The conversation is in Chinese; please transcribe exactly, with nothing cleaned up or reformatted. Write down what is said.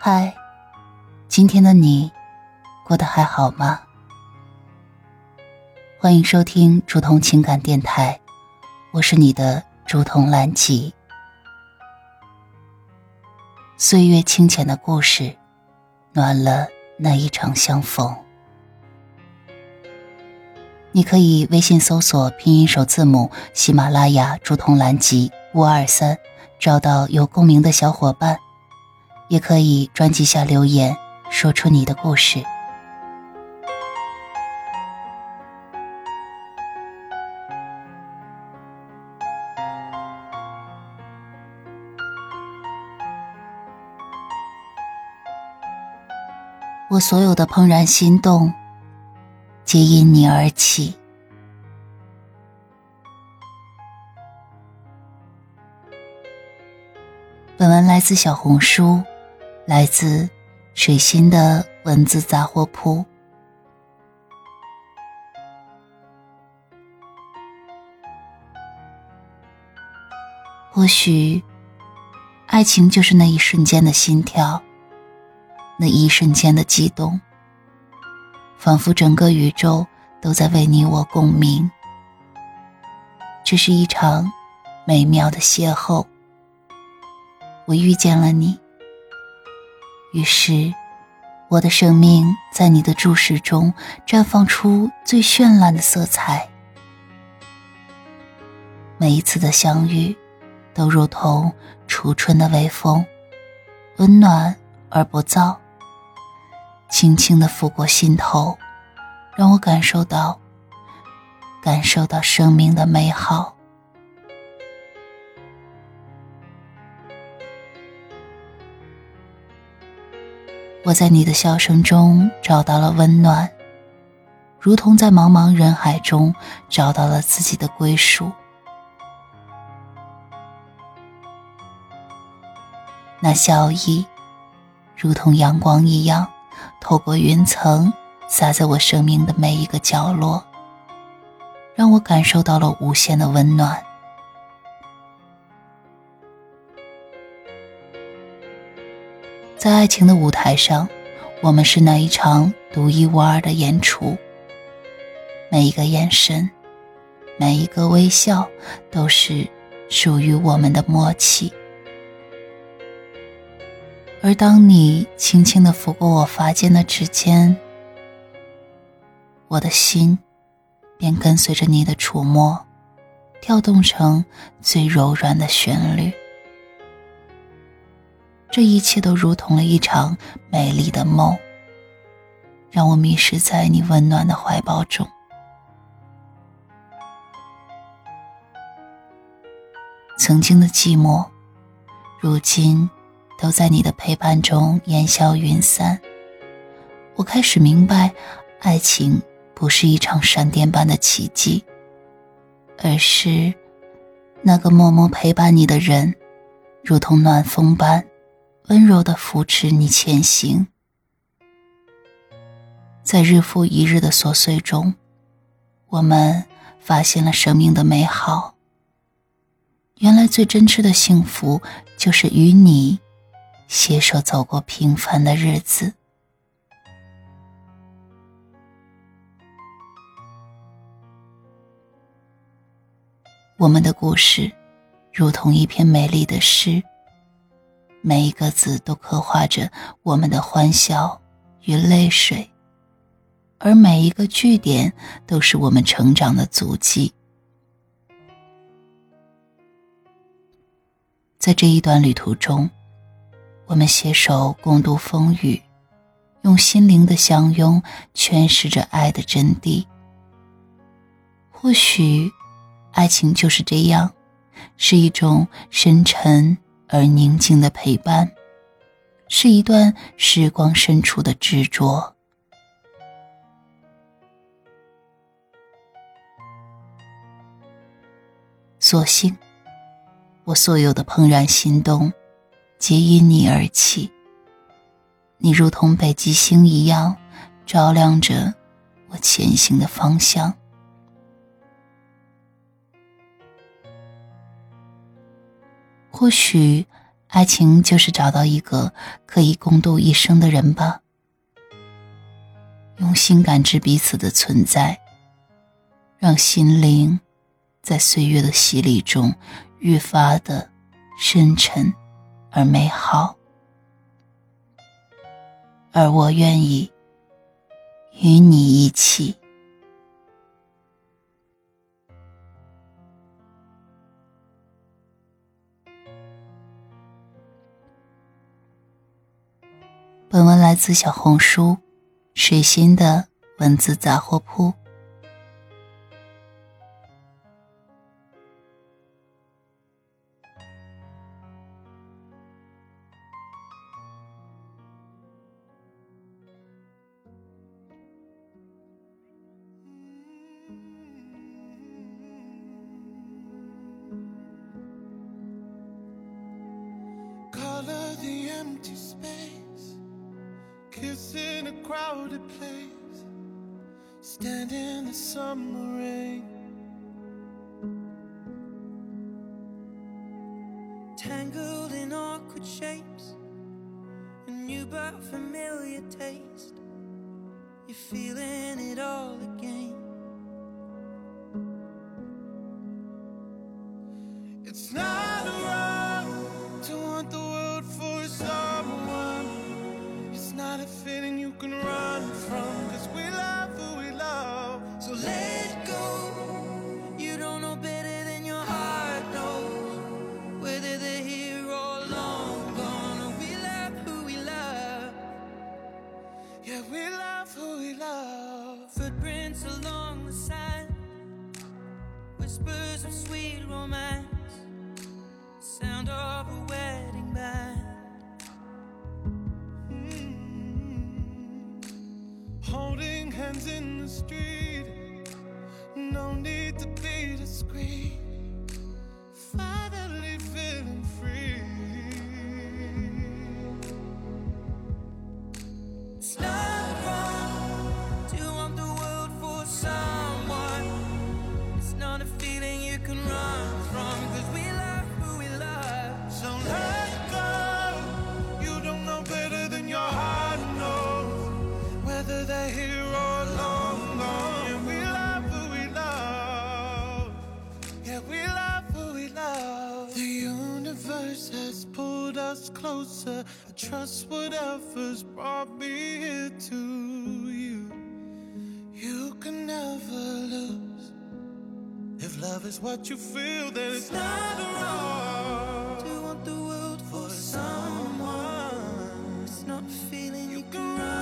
嗨，今天的你过得还好吗？欢迎收听竹筒情感电台，我是你的竹筒兰吉。岁月清浅的故事，暖了那一场相逢。你可以微信搜索拼音首字母喜马拉雅竹筒兰吉五二三，找到有共鸣的小伙伴，也可以专辑下留言，说出你的故事。我所有的怦然心动，皆因你而起。本文来自小红书，来自水星的文字杂货铺。或许爱情就是那一瞬间的心跳，那一瞬间的激动，仿佛整个宇宙都在为你我共鸣。这是一场美妙的邂逅，我遇见了你，于是我的生命在你的注视中绽放出最绚烂的色彩。每一次的相遇都如同初春的微风，温暖而不燥，轻轻地拂过心头，让我感受到感受到生命的美好。我在你的笑声中找到了温暖，如同在茫茫人海中找到了自己的归属。那笑意如同阳光一样，透过云层洒在我生命的每一个角落，让我感受到了无限的温暖。在爱情的舞台上，我们是那一场独一无二的演出，每一个眼神，每一个微笑，都是属于我们的默契。而当你轻轻地拂过我发间的指尖，我的心便跟随着你的触摸，跳动成最柔软的旋律。这一切都如同了一场美丽的梦，让我迷失在你温暖的怀抱中。曾经的寂寞，如今都在你的陪伴中烟消云散。我开始明白，爱情不是一场闪电般的奇迹，而是那个默默陪伴你的人，如同暖风般温柔地扶持你前行。在日复一日的琐碎中，我们发现了生命的美好。原来最真挚的幸福，就是与你携手走过平凡的日子。我们的故事如同一篇美丽的诗，每一个字都刻画着我们的欢笑与泪水，而每一个句点都是我们成长的足迹。在这一段旅途中，我们携手共度风雨，用心灵的相拥诠释着爱的真谛。或许爱情就是这样，是一种深沉而宁静的陪伴，是一段时光深处的执着。所幸我所有的怦然心动，皆因你而起。你如同北极星一样，照亮着我前行的方向。或许爱情就是找到一个可以共度一生的人吧，用心感知彼此的存在，让心灵在岁月的洗礼中愈发的深沉而美好。而我愿意与你一起。本文来自小红书水星的文字杂货铺。 Color the empty space, kiss in a crowded place, stand in the summer rain, tangled in awkward shapes, a new but familiar taste, you're feeling it all again. It's not wrong to want the world for someone. It's not a feeling you can run from, 'cause we love who we love. So let go. You don't know better than your heart knows, whether they're here or long gone. We love who we love. Yeah, we love who we love. Footprints along the sand, whispers of sweet romance, sound of a wedding band. Mm-hmm. Holding hands in the street, no need to be discreet, finally feeling free. It's not wrong to want the world for someone. It's not a feeling you can run from, 'cause we love who we love. So let go. You don't know better than your heart knows, whether they're here or long gone. Yeah, we love who we love. Yeah, we love who we love. The universe has pulled us closer. I trust whatever's brought me here to you. You can never lose. If love is what you feel, then it's not wrong to want the world for someone. It's not a feeling you can run